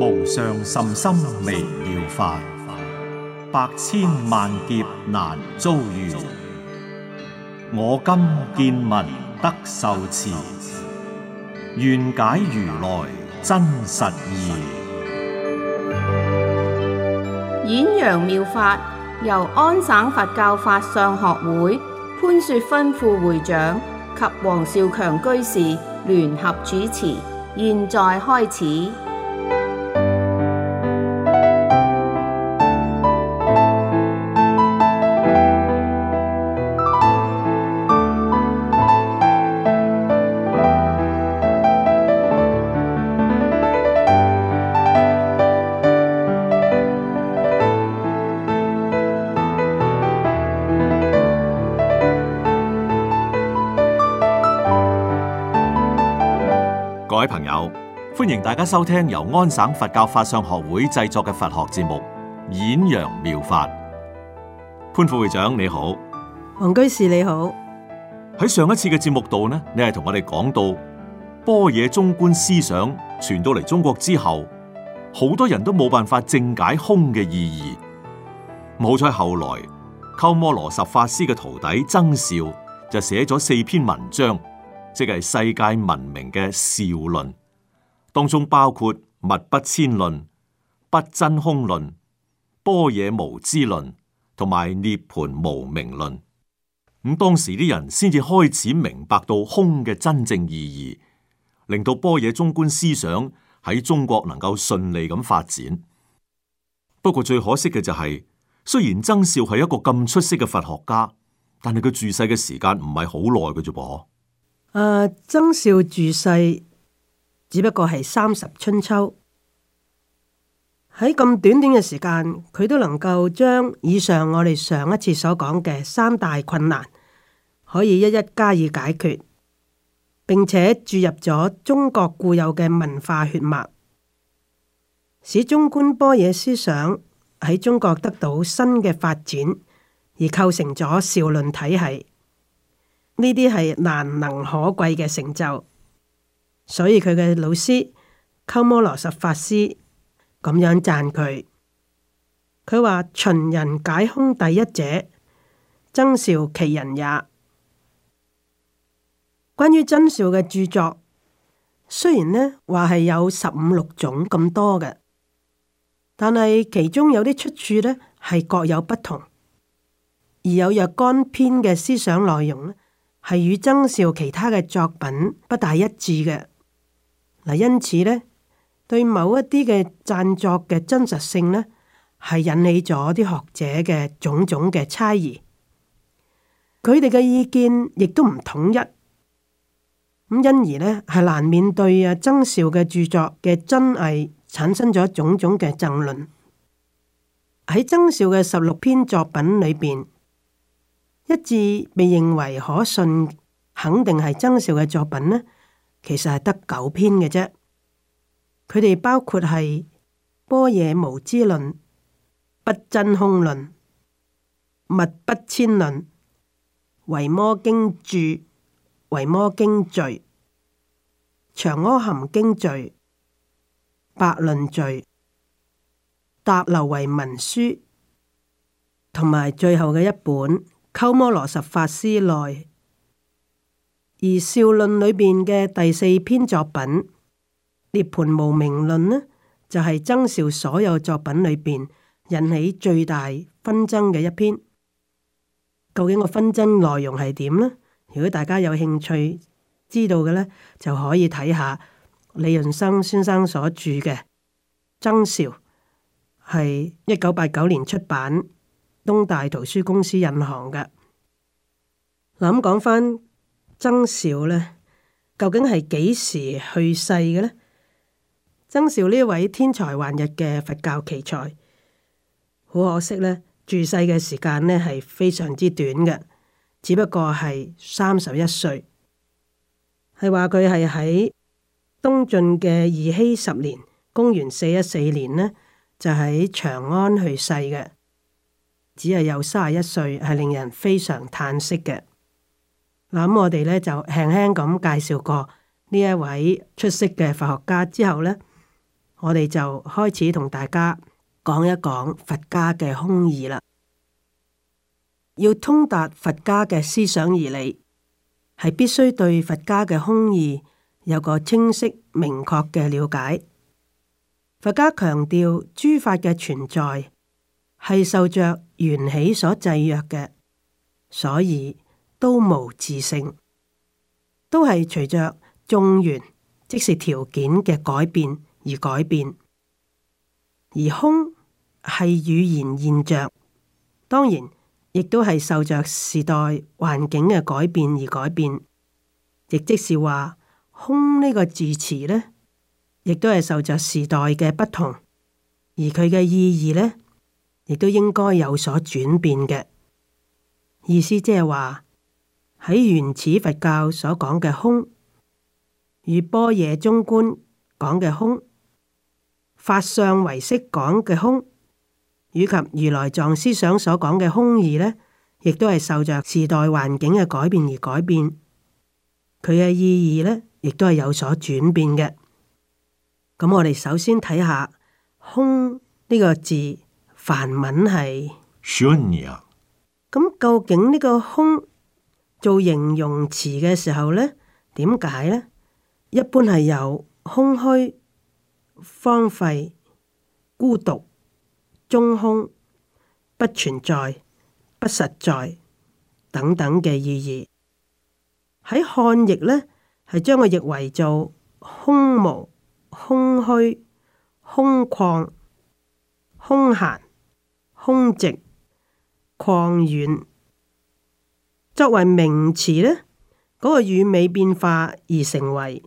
無上甚深微妙法，百千萬劫難遭遇。我今見聞得受持，願解如來真實義。 演揚妙法由安省佛教法相學會潘雪芬副會長及黃少強居士聯合主持，現在開始。 各位朋友，歡迎大家收聽由安省佛教法相學會製作嘅佛學節目《演揚妙法》。潘副會長你好， 黃居士你好。 喺上一次嘅節目度呢，你係同我哋講到般若中觀思想傳到嚟中國之後，好多人都冇辦法正解空嘅意義。好彩後來鳩摩羅什法師嘅徒弟僧肇就寫咗4篇文章，即係世界聞名嘅肇論，當中包括物不遷論、不真空論、般若無知論同埋涅槃無明論。咁當時啲人先至開始明白到空嘅真正意義，令到般若中觀思想喺中國能夠順利咁發展。不過最可惜嘅就係，雖然僧肇係一個咁出色嘅佛學家，但係佢住世嘅時間唔係好耐嘅啫噃。 僧肇住世只不過係30春秋，喺咁短短嘅時間，佢都能夠將以上我哋上一次所講嘅3大困難可以一一加以解決，並且注入咗中國固有嘅文化血脈，使中觀般若思想喺中國得到新嘅發展，而構成咗肇論體系。呢啲係難能可貴嘅成就，所以佢嘅老師鳩摩羅什法師咁樣讚佢。佢話：秦人解空第一者，僧肇其人也。關於僧肇嘅著作，雖然呢話係有15、16種咁多嘅，但係其中有啲出處呢係各有不同，而有若干篇嘅思想內容呢，係與僧肇其他嘅作品不大一致嘅。嗱，因此呢，對某一啲嘅讚作嘅真實性呢，係引起咗啲學者嘅種種嘅猜疑。佢哋嘅意見亦都唔統一，咁因而呢，係難免對僧肇嘅著作嘅真偽產生咗種種嘅爭論。喺僧肇嘅16篇作品裏邊，一致被認為可信，肯定係僧肇嘅作品呢，其實係得9篇嘅啫。佢哋包括係般若無知論、不真空論、物不遷論、維摩經注、維摩經序、長阿含經序、百論序、達流為文書，同埋最後嘅一本鳩摩羅什法師內。而肇論裏邊嘅第4篇作品涅槃無明論呢，就係僧肇所有作品裏邊引起最大紛爭嘅一篇。究竟個紛爭內容係點呢？如果大家有興趣知道嘅呢，就可以睇下李潤生先生所著嘅《僧肇》，係1989年出版，東大圖書公司印行嘅。嗱，咁講翻僧肇呢，究竟係幾時去世嘅呢？僧肇呢位天才橫溢嘅佛教奇才，好可惜呢，住世嘅時間呢係非常之短嘅，只不過係31歲。係話佢係喺東晉嘅義熙10年，公元414年呢，就喺長安去世嘅，只係有31歲，係令人非常嘆息嘅。嗱，咁我哋呢就輕輕咁介紹過呢一位出色嘅佛學家之後呢， 我哋就開始同大家講一講佛家嘅空義啦。要通達佛家嘅思想義理，係必須對佛家嘅空義有個清晰明確嘅了解。佛家強調諸法嘅存在係受着緣起所制約嘅，所以都無自性，都係隨着眾緣，即是條件嘅改變而改變。而空係語言現象，當然亦都係受着時代環境嘅改變而改變。亦即是話，空呢個字詞呢，亦都係受着時代嘅不同，而佢嘅意義呢，亦都應該有所轉變嘅。意思即係話，喺原始佛教所講嘅空，與般若中觀講嘅空，法相唯識講嘅空，以及如來藏思想所講嘅空義呢，亦都係受着時代環境嘅改變而改變，佢嘅意義呢，亦都係有所轉變嘅。咁我哋首先睇下空呢個字，梵文係 Shunya。 咁究竟呢個空做形容詞嘅時候呢，點解呢？一般係有空虛、荒廢、孤獨、中空、不存在、不實在等等嘅意義。喺漢譯呢，係將佢譯為做空無、空虛、空曠、空閒、空寂、曠遠。作為名詞呢，嗰個語尾變化而成為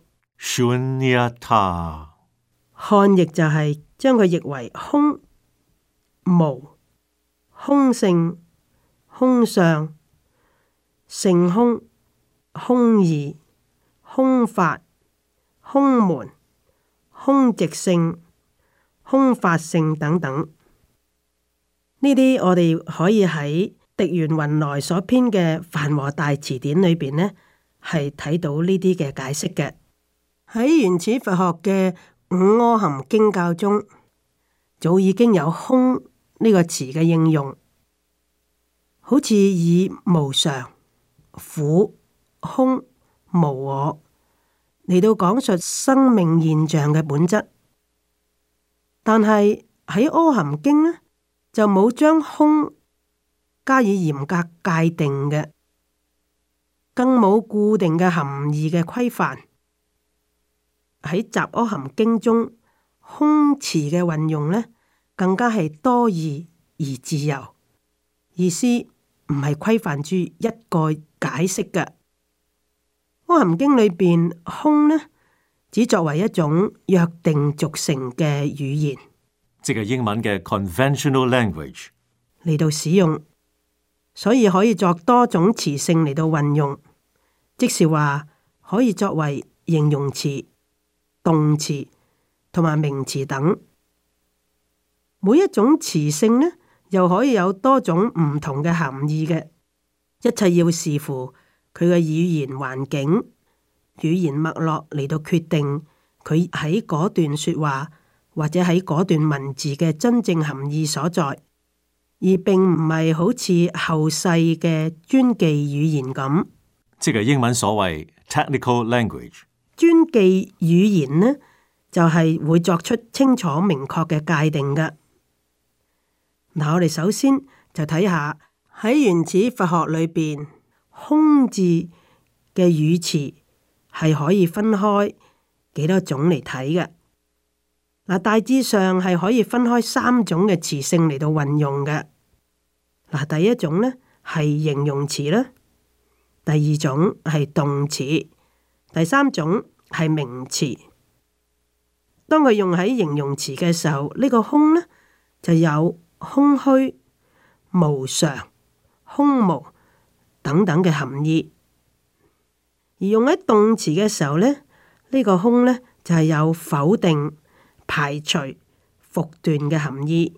Shunyata。 漢譯就係將佢譯為空、無、空性、空相、性空、空義、空法、空門、空寂性、空法性等等。呢啲我哋可以喺迪元雲來所編嘅《梵和大辭典》裏邊呢，係睇到呢啲嘅解釋嘅。喺原始佛學嘅五阿含經教中，早已經有空呢個詞嘅應用，好似以無常、苦、空、無我嚟到講述生命現象嘅本質。但係喺阿含經呢，就冇將空加以嚴格界定嘅，更冇固定嘅含義嘅規範。喺雜阿含經中，空詞嘅運用呢，更加係多義而自由，意思唔係規範住一個解釋嘅。阿含經裏邊空呢，只作為一種約定俗成嘅語言， 即係英文嘅 conventional language 嚟到使用，所以可以作多種詞性嚟到運用，即是話可以作為形容詞、動詞同埋名詞等。每一種詞性呢，又可以有多種唔同嘅含義嘅。一切要視乎佢嘅語言環境、語言脈絡嚟到決定佢喺嗰段說話或者喺嗰段文字嘅真正含義所在，而並唔係好似後世嘅專記語言咁， 即係英文所謂 technical language。 專記語言呢，就係會作出清楚明確嘅界定嘅。嗱，我哋首先就睇下喺原始佛學裏邊，空字嘅語詞係可以分開幾多種嚟睇嘅。嗱，大致上係可以分開三種嘅詞性嚟到運用嘅。嗱，第一種呢係形容詞啦，第二種係動詞，第三種係名詞。當佢用喺形容詞嘅時候，呢個空呢就有空虛、無常、空無等等嘅含義；而用喺動詞嘅時候呢，呢個空呢就係有否定、排除、復斷嘅含義。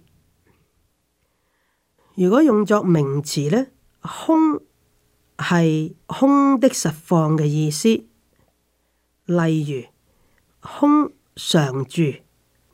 如果用作名詞呢，空係空的實況嘅意思，例如空常住、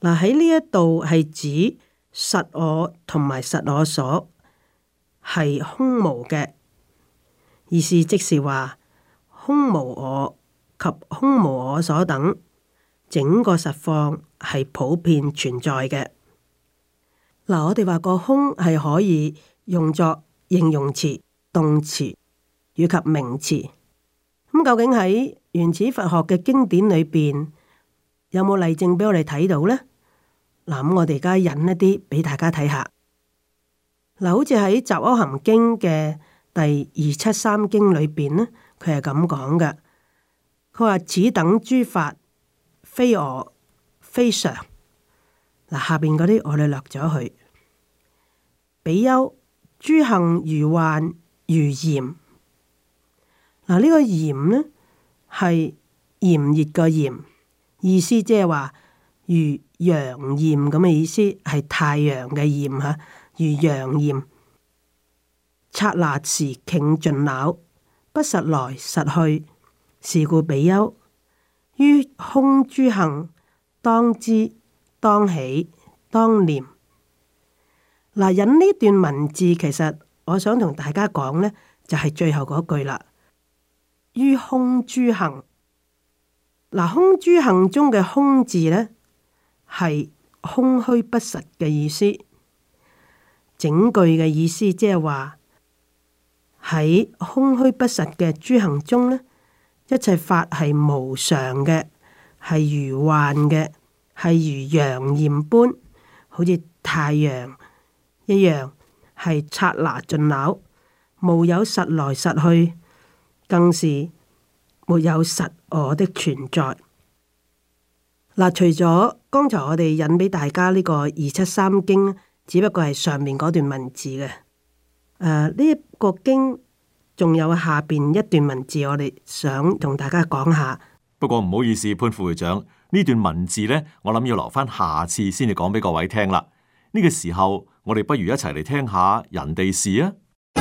嗱，喺呢一度係指實我同埋實我所係空無嘅意思，即是話空無我及空無我所等整個實況係普遍存在嘅。嗱，我哋話個空係可以用作形容詞、動詞以及名詞。咁究竟喺原始佛學嘅經典裏邊有冇例證俾我哋睇到呢？嗱，咁我哋而家引一啲俾大家睇下。嗱，好似喺《雜阿含經》嘅第273經裏邊呢，佢係咁講嘅。佢話此等諸法非我非常。嗱，下邊嗰啲我哋略咗去。比丘諸行如幻如炎。嗱，呢個炎呢係炎熱個炎，意思即係話如陽焰咁嘅意思，係太陽嘅焰嚇，如陽焰。剎那時頃盡朽，不實來實去。是故比丘於空諸行當知當喜當念。嗱，引呢段文字，其實我想同大家講呢，就係最後嗰句啦。於空諸行，嗱，空諸行中嘅空字呢，係空虛不實嘅意思。整句嘅意思即係話喺空虛不實嘅諸行中呢，一切法係無常嘅，係如幻嘅，係如陽焰般，好似太陽一樣，係剎那盡朽，無有實來實去，更是沒有實我的存在。嗱，除咗剛才我哋引俾大家呢個273經，只不過係上面嗰段文字嘅。呢一個經仲有下邊一段文字，我哋想同大家講下。 不過唔好意思，潘副會長，呢段文字呢，我諗要留翻下次先至講俾各位聽啦。呢個時候，我哋不如一齊嚟聽下人哋事啊！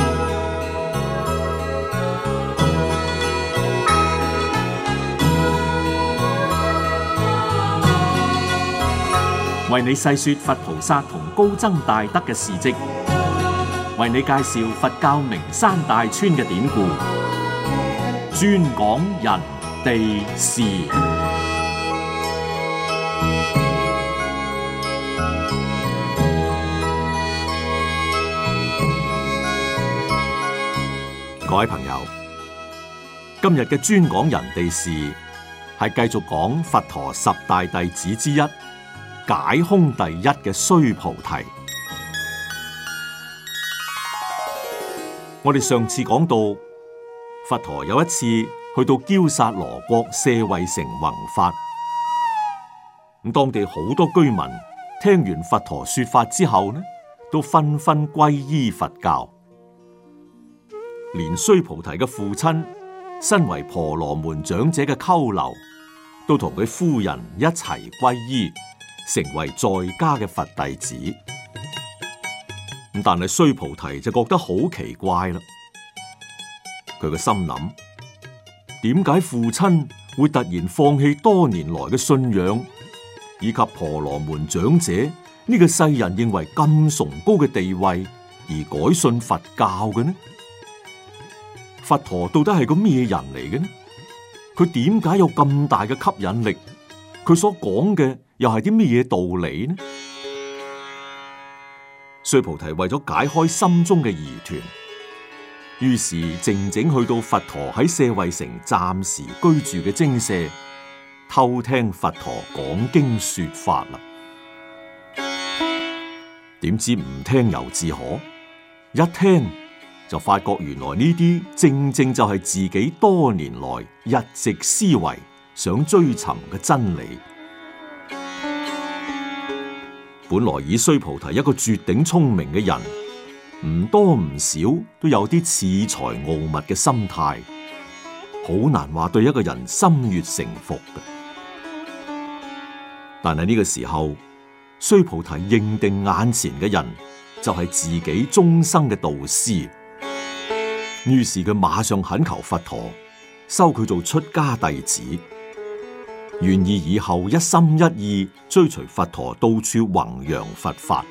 為你細說佛菩薩同高僧大德嘅事跡，為你介紹佛教名山大川嘅典故，專講人地事。各位朋友，今日嘅專講人地事係繼續講佛陀十大弟子之一，解空第一嘅須菩提。我哋上次講到，佛陀有一次去到憍薩羅國舍衛城弘法，咁當地好多居民聽完佛陀說法之後呢，都紛紛皈依佛教。連須菩提嘅父親，身為婆羅門長者嘅鳩留，都同佢夫人一齊皈依，成為在家嘅佛弟子。咁但係須菩提就覺得好奇怪啦。佢個心諗，點解父親會突然放棄多年來嘅信仰，以及婆羅門長者呢個世人認為咁崇高嘅地位，而改信佛教嘅呢？佛陀到底係個咩人嚟嘅呢？佢點解有咁大嘅吸引力？佢所講嘅又係啲咩嘢道理呢？須菩提為咗解開心中嘅疑團，於是靜靜去到佛陀喺舍衛城暫時居住嘅精舍，偷聽佛陀講經說法啦。點知唔聽猶自可，一聽就發覺原來呢啲正正就係自己多年來一直思維想追尋嘅真理。本來以須菩提一個絕頂聰明嘅人，唔多唔少都有啲恃才傲物嘅心態，好難話對一個人心悅誠服嘅。但係呢個時候，須菩提認定眼前嘅人就係自己終生嘅導師。於是佢馬上懇求佛陀收佢做出家弟子， 願意以後一心一意追隨佛陀到處弘揚佛法。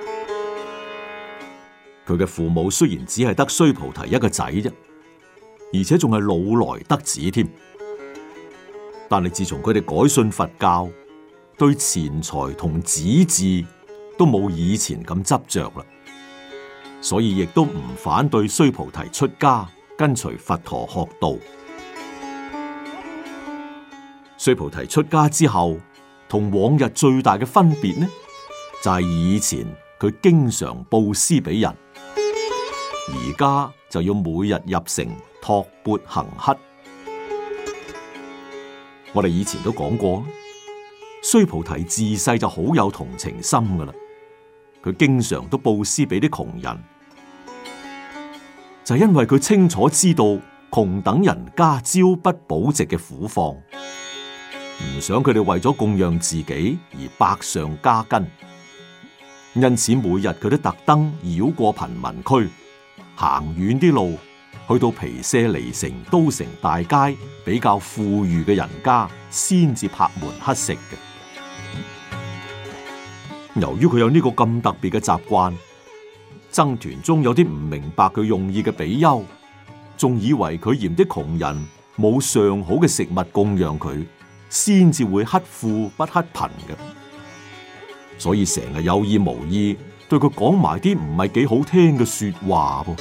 佢嘅父母雖然只係得須菩提一個仔啫，而且仲係老來得子添。但係自從佢哋改信佛教，對錢財同子嗣都冇以前咁執着啦，所以亦都唔反對須菩提出家跟隨佛陀學道。須菩提出家之後，同往日最大嘅分別呢，就係以前佢經常布施俾人，而家就要每日入城托缽行乞。我哋以前都講過，須菩提自細就好有同情心噶啦，佢經常都布施俾啲窮人，就係因為佢清楚知道窮等人家朝不保夕嘅苦況，唔想佢哋為咗供養自己而百上加斤，因此每日佢都特登繞過貧民區，行遠啲路，去到皮舍離城、都城大街比較富裕嘅人家，先至拍門乞食嘅。由於佢有呢個咁特別嘅習慣，僧團中有啲唔明白佢用意嘅比丘，仲以為佢嫌啲窮人冇上好嘅食物供養佢，先至會乞富不乞貧嘅，所以成日有意無意對佢講埋啲唔係幾好聽嘅說話噃。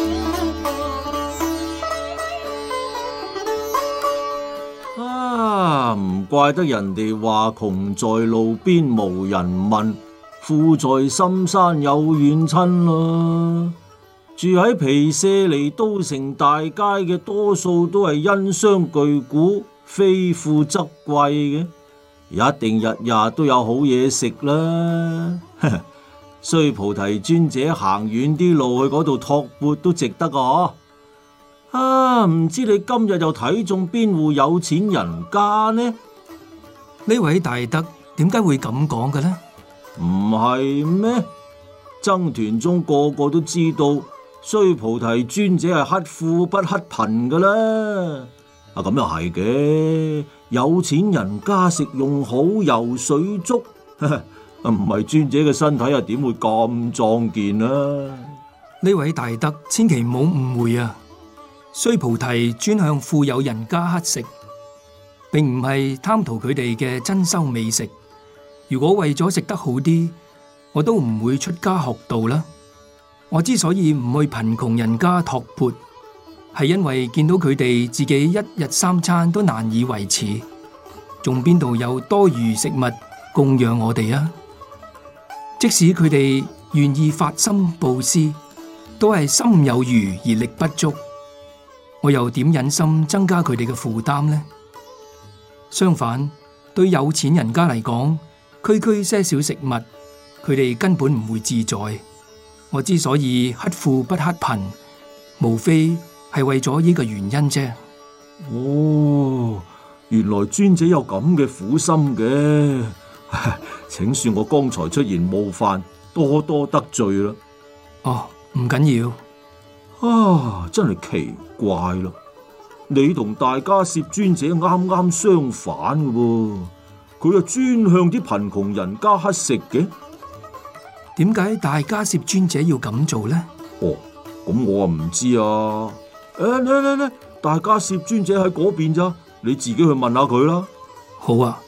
唔怪得人哋話窮在路邊無人問，富在深山有遠親啦。住喺皮舍離都城大街嘅多數都係因商巨賈，非富則貴嘅，一定日日都有好嘢食啦。須菩提尊者行遠啲路去嗰度托缽都值得啊！唔知你今日又睇中邊戶有錢人家呢？ 呢位大德點解會咁講嘅呢？ 唔係咩？僧團中個個都知道，須菩提尊者係乞富不乞貧噶啦。咁又係嘅，有錢人家食用好，游水足，唔係尊者嘅身體又點會咁壯健啊？ 呢位大德千祈唔好誤會啊！須菩提專向富有人家乞食，並唔係貪圖佢哋嘅珍饈美食。如果為咗食得好啲，我都唔會出家學道啦。我之所以唔去貧窮人家托缽，係因為見到佢哋自己一日三餐都難以維持，仲邊度有多餘食物供養我哋啊？即使佢哋願意發心布施，都係心有餘而力不足。我又點忍心增加佢哋嘅負擔呢？相反，對有錢人家嚟講，區區些少食物，佢哋根本唔會自在。我之所以乞富不乞貧，無非係為咗呢個原因啫。 哦，原來尊者有咁嘅苦心嘅，請恕我剛才出言冒犯，多多得罪啦。 哦，唔緊要。 真係奇怪咯！你同大迦葉尊者啱啱相反嘅喎，佢又專向啲貧窮人家乞食嘅。 點解大迦葉尊者要咁做呢？ 哦，咁我啊唔知啊。嚟，大迦葉尊者喺嗰邊咋，你自己去問下佢啦。 好啊。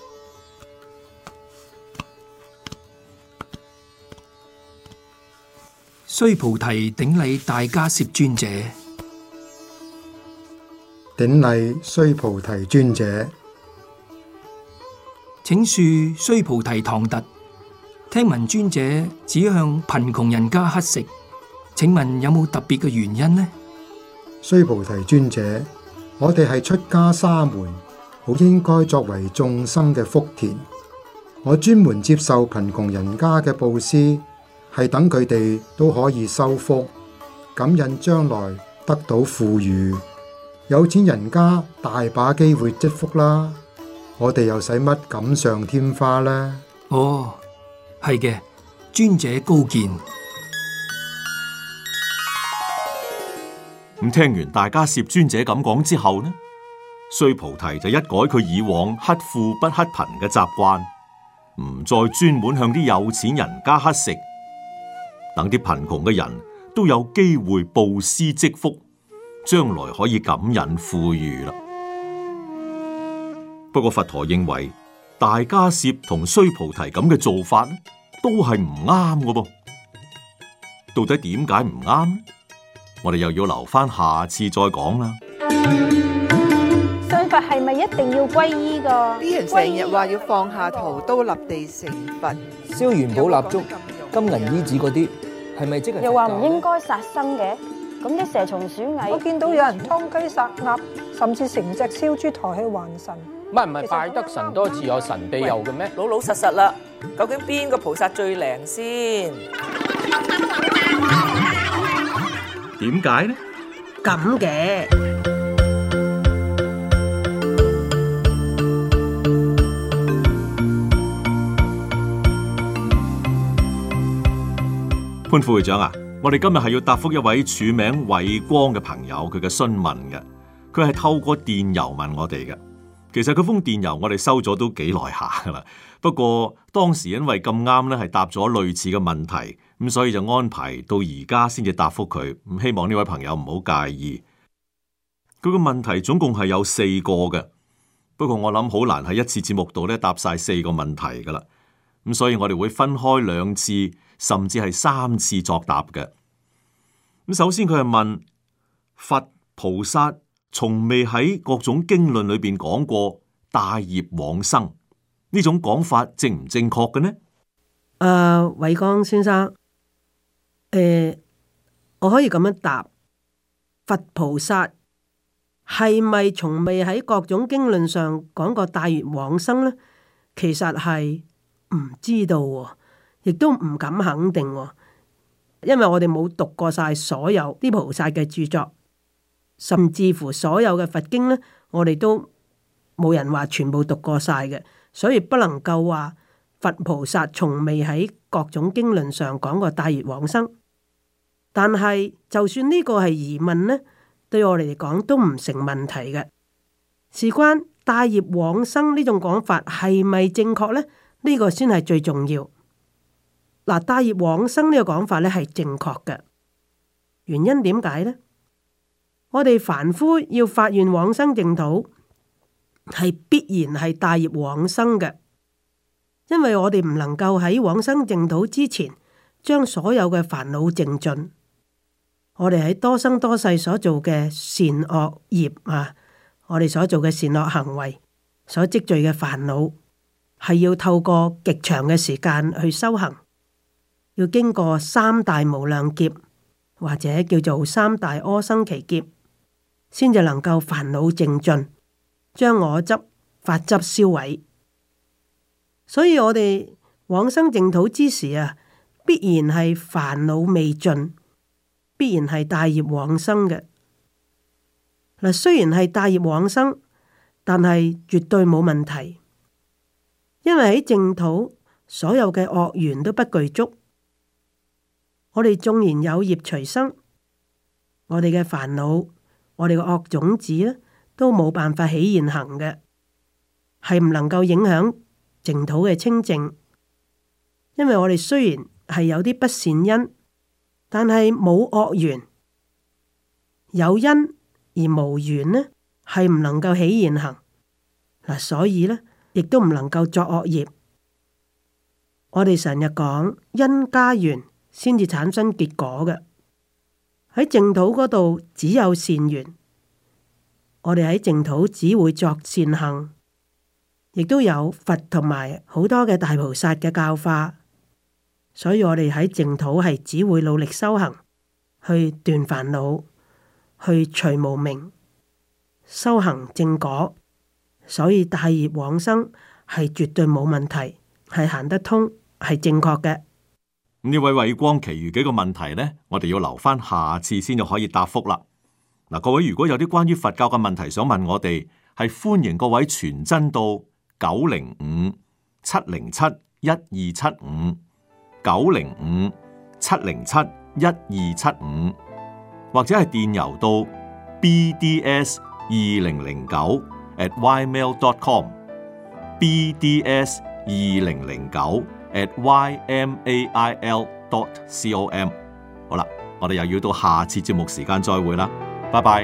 須菩提頂禮大迦葉尊者。 頂禮須菩提尊者。 請恕須菩提唐突，聽聞尊者只向貧窮人家乞食，請問有冇特別嘅原因呢？ 須菩提尊者，我哋係出家沙門，好應該作為眾生嘅福田。我專門接受貧窮人家嘅布施，係等佢哋都可以修福，感應將來得到富裕。有錢人家大把機會積福啦，我哋又使乜錦上添花呢？ 哦，係嘅，尊者高見。 咁聽完大迦葉尊者咁講之後呢， 須菩提就一改佢以往乞富不乞貧嘅習慣，唔再專門向啲有錢人家乞食，等啲貧窮嘅人都有機會布施積福，將來可以感引富裕啦。不過佛陀認為大迦葉同須菩提咁嘅做法都係唔啱嘅噃。到底點解唔啱呢？我哋又要留翻下次再講啦。 信佛係咪一定要皈依㗎？ 啲人成日話要放下屠刀立地成佛， 燒元寶蠟燭、金銀衣紙嗰啲，係咪即係？ 又話唔應該殺生嘅，咁啲蛇蟲鼠蟻， 我見到有人劏雞殺鴨，甚至成隻燒豬抬去還神。 唔係拜得神多自有神庇佑嘅咩？ 老老實實啦，究竟邊個菩薩最靈先？ 點解呢？ 咁嘅潘副會長啊，我哋今日係要答覆一位署名偉光嘅朋友佢嘅詢問嘅，佢係透過電郵問我哋嘅。其實佢封電郵我哋收咗都幾耐下噶啦，不過當時因為咁啱咧係答咗類似嘅問題，咁所以就安排到而家先至答覆佢。咁希望呢位朋友唔好介意。佢個問題總共係有4個嘅，不過我諗好難喺一次節目度咧答晒4個問題噶啦。咁所以我哋會分開2次，甚至係3次作答嘅。咁首先佢係問佛菩薩從未喺各種經論裏邊講過帶業往生呢種講法正唔正確嘅呢？ 偉光先生，我可以咁樣答：佛菩薩係咪從未喺各種經論上講過帶業往生呢？其實係唔知道喎，亦都唔敢肯定喎，因為我哋冇讀過晒所有啲菩薩嘅著作。甚至乎所有嘅佛經呢，我哋都冇人話全部讀過晒嘅，所以不能夠話佛菩薩從未喺各種經論上講過帶業往生。但係就算呢個係疑問呢，對我哋嚟講都唔成問題嘅。事關帶業往生呢種講法係咪正確呢？呢個先係最重要。嗱，帶業往生呢個講法呢係正確嘅，原因點解呢？我哋凡夫要發願往生淨土，係必然係帶業往生嘅，因為我哋唔能夠喺往生淨土之前，將所有嘅煩惱淨盡。我哋喺多生多世所做嘅善惡業啊，我哋所做嘅善惡行為，所積聚嘅煩惱，係要透過極長嘅時間去修行，要經過3大無量劫，或者叫做3大阿僧祇劫，先至能夠煩惱淨盡，將我執、法執銷毀。所以我哋往生淨土之時啊，必然係煩惱未盡，必然係帶業往生嘅。嗱，雖然係帶業往生，但係絕對冇問題，因為喺淨土所有嘅惡緣都不具足。我哋縱然有業隨生，我哋嘅煩惱，我哋嘅惡種子咧，都冇辦法起現行嘅，係唔能夠影響淨土嘅清淨。因為我哋雖然係有啲不善因，但係冇惡緣，有因而無緣呢，係唔能夠起現行。嗱，所以呢，亦都唔能夠作惡業。我哋成日講因加緣先至產生結果嘅。喺淨土嗰度只有善緣，我哋喺淨土只會作善行，亦都有佛同埋好多嘅大菩薩嘅教化，所以我哋喺淨土係只會努力修行，去斷煩惱，去除無明，修行正果，所以帶業往生係絕對冇問題，係行得通，係正確嘅。 呢位慧光，其餘幾個問題呢，我哋要留翻下次先就可以答覆啦。嗱，各位如果有啲關於佛教嘅問題想問我哋，係歡迎各位傳真到905-707-1275，905-707-1275，或者係電郵到bds2009 bds2009 bds2009@ymail.com。好啦，我哋又要到下次節目時間再會啦，拜拜。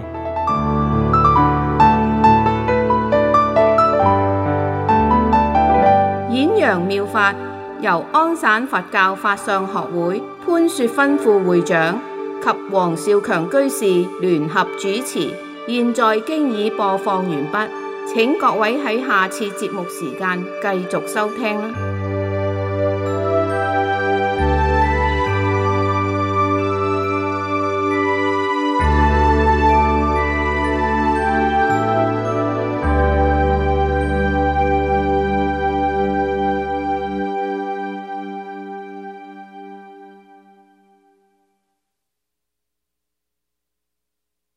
演揚妙法由安省佛教法相學會潘雪芬副會長及黃少強居士聯合主持，現在經已播放完畢，請各位喺下次節目時間繼續收聽啦。